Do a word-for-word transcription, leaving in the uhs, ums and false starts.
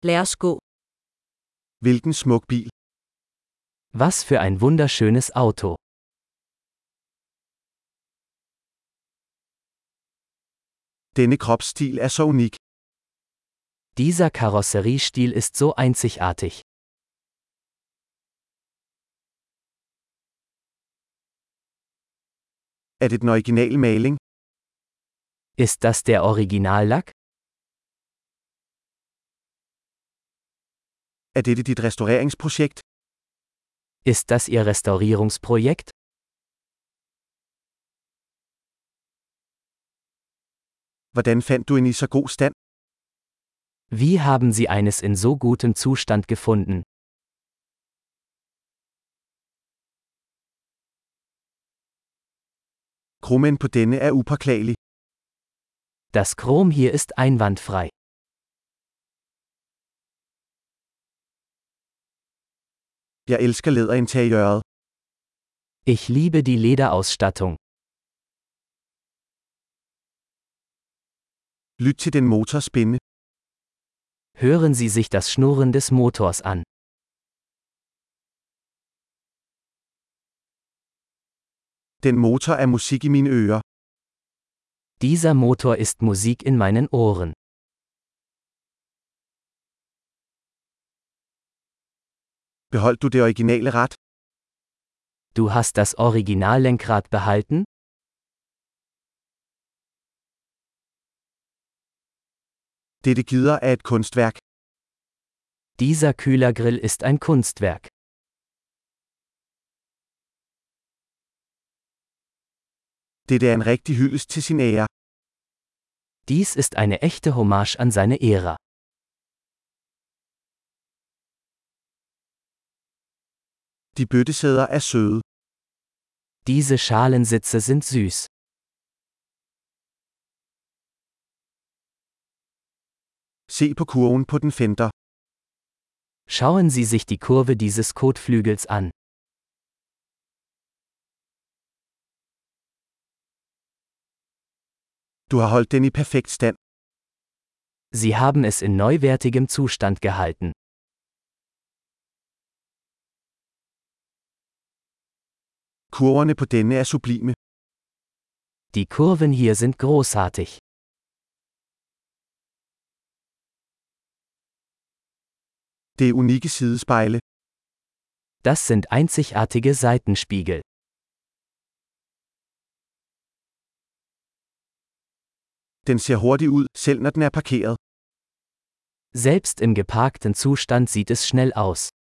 Lad os gå. Hvilken smuk bil. Was für ein wunderschönes Auto. Denne kropsstil er så unik. Dieser Karosseriestil ist so einzigartig. Er det den originale maling? Ist das der Originallack? Er dette dit restaureringsprojekt? Ist das Ihr Restaurierungsprojekt? Hvordan fandt du en i så god stand? Wie haben Sie eines in so gutem Zustand gefunden? Krummen på denne er upåklagelig. Das Chrom hier ist einwandfrei. Jeg elsker læderinteriøret. Ich liebe die Lederausstattung. Lyt til den motor spinde. Hören Sie sich das Schnurren des Motors an. Den motor er musik i mine ører. Dieser Motor ist Musik in meinen Ohren. Behold du det originale rat? Du hast das Originallenkrad behalten? Dette gider er et kunstværk. Dieser Kühlergrill ist ein Kunstwerk. Dette er en rigtig hyldest til sin ære. Dies ist eine echte Hommage an seine Ära. De bøttesæder er søde. Diese Schalensitze sind süß. Se på kurven på den fender. Schauen Sie sich die Kurve dieses Kotflügels an. Du har holdt den i perfekt stand. Sie haben es in neuwertigem Zustand gehalten. Kurverne på denne er sublime. Die Kurven hier sind großartig. Det er unikke sidespejle. Das sind einzigartige Seitenspiegel. Den ser hurtig ud, selv når den er parkeret. Selbst im geparkten Zustand sieht es schnell aus.